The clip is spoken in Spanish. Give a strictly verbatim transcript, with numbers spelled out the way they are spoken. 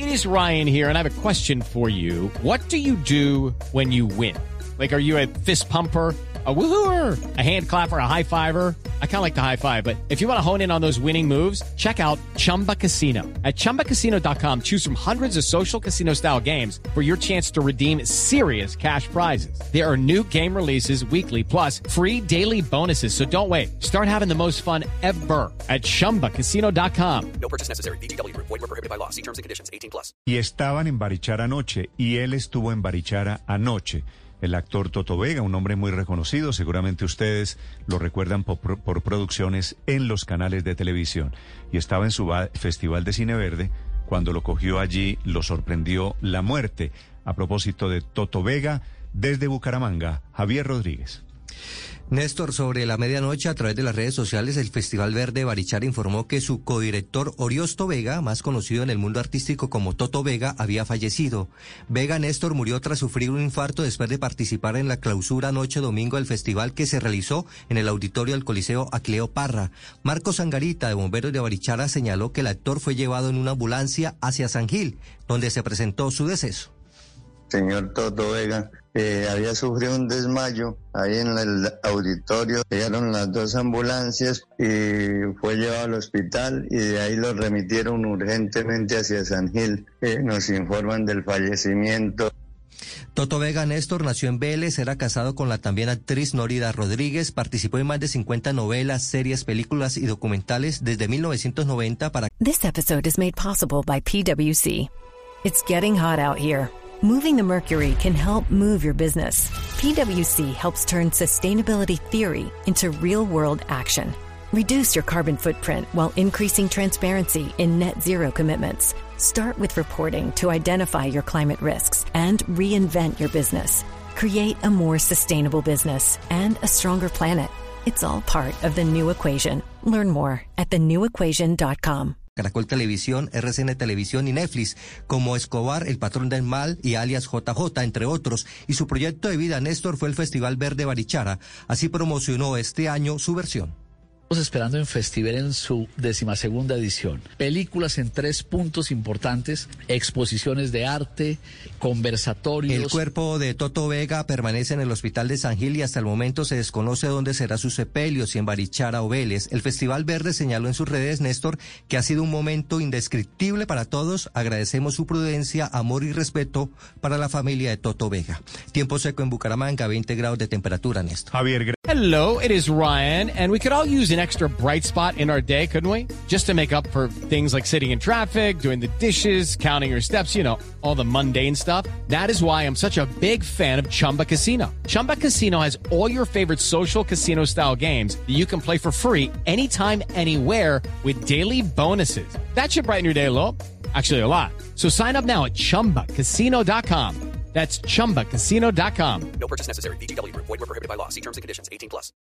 is Ryan here, and I have a question for you. What do you do when you win? Like, are you a fist pumper, a woohooer, a hand clapper, a high fiver? I kind of like the high five, but if you want to hone in on those winning moves, check out Chumba Casino. At chumba casino dot com, choose from hundreds of social casino style games for your chance to redeem serious cash prizes. There are new game releases weekly, plus free daily bonuses. So don't wait. Start having the most fun ever at chumba casino dot com. No purchase necessary. V G W Group. Void where prohibited by law. See terms and conditions. eighteen plus. Y estaban en Barichara anoche, y él estuvo en Barichara anoche. El actor Toto Vega, un hombre muy reconocido, seguramente ustedes lo recuerdan por, por producciones en los canales de televisión. Y estaba en su Festival de Cine Verde, cuando lo cogió allí, lo sorprendió la muerte. A propósito de Toto Vega, desde Bucaramanga, Javier Rodríguez. Néstor, sobre la medianoche, a través de las redes sociales, el Festival Verde de Barichara informó que su codirector Oriosto Vega, más conocido en el mundo artístico como Toto Vega, había fallecido. Vega, Néstor, murió tras sufrir un infarto después de participar en la clausura anoche domingo del festival que se realizó en el auditorio del Coliseo Aquileo Parra. Marcos Sangarita, de Bomberos de Barichara, señaló que el actor fue llevado en una ambulancia hacia San Gil, donde se presentó su deceso. Señor Toto Vega, eh, había sufrido un desmayo ahí en el auditorio. Llegaron las dos ambulancias y fue llevado al hospital y de ahí lo remitieron urgentemente hacia San Gil. Eh, nos informan del fallecimiento. Toto Vega, Néstor, nació en Vélez, era casado con la también actriz Nórida Rodríguez, participó en más de cincuenta novelas, series, películas y documentales desde mil novecientos noventa para... This episode is made possible by P W C. It's getting hot out here. Moving the mercury can help move your business. P W C helps turn sustainability theory into real-world action. Reduce your carbon footprint while increasing transparency in net zero commitments. Start with reporting to identify your climate risks and reinvent your business. Create a more sustainable business and a stronger planet. It's all part of the new equation. Learn more at the new equation dot com. Caracol Televisión, R C N Televisión y Netflix, como Escobar, El Patrón del Mal y alias J J, entre otros. Y su proyecto de vida, Néstor, fue el Festival Verde Barichara. Así promocionó este año su versión. Estamos esperando en Festival en su decimasegunda edición. Películas en tres puntos importantes, exposiciones de arte, conversatorios. El cuerpo de Toto Vega permanece en el Hospital de San Gil y hasta el momento se desconoce dónde será su sepelio, si en Barichara o Vélez. El Festival Verde señaló en sus redes, Néstor, que ha sido un momento indescriptible para todos. Agradecemos su prudencia, amor y respeto para la familia de Toto Vega. Tiempo seco en Bucaramanga, veinte grados de temperatura, Néstor. Javier. Hello, it is Ryan, and we could all use an extra bright spot in our day, couldn't we? Just to make up for things like sitting in traffic, doing the dishes, counting your steps, you know, all the mundane stuff. That is why I'm such a big fan of Chumba Casino. Chumba Casino has all your favorite social casino-style games that you can play for free anytime, anywhere with daily bonuses. That should brighten your day a little. Actually, a lot. So sign up now at chumba casino dot com. That's chumba casino dot com. No purchase necessary. V G W Group. Void where prohibited by law. See terms and conditions. eighteen plus.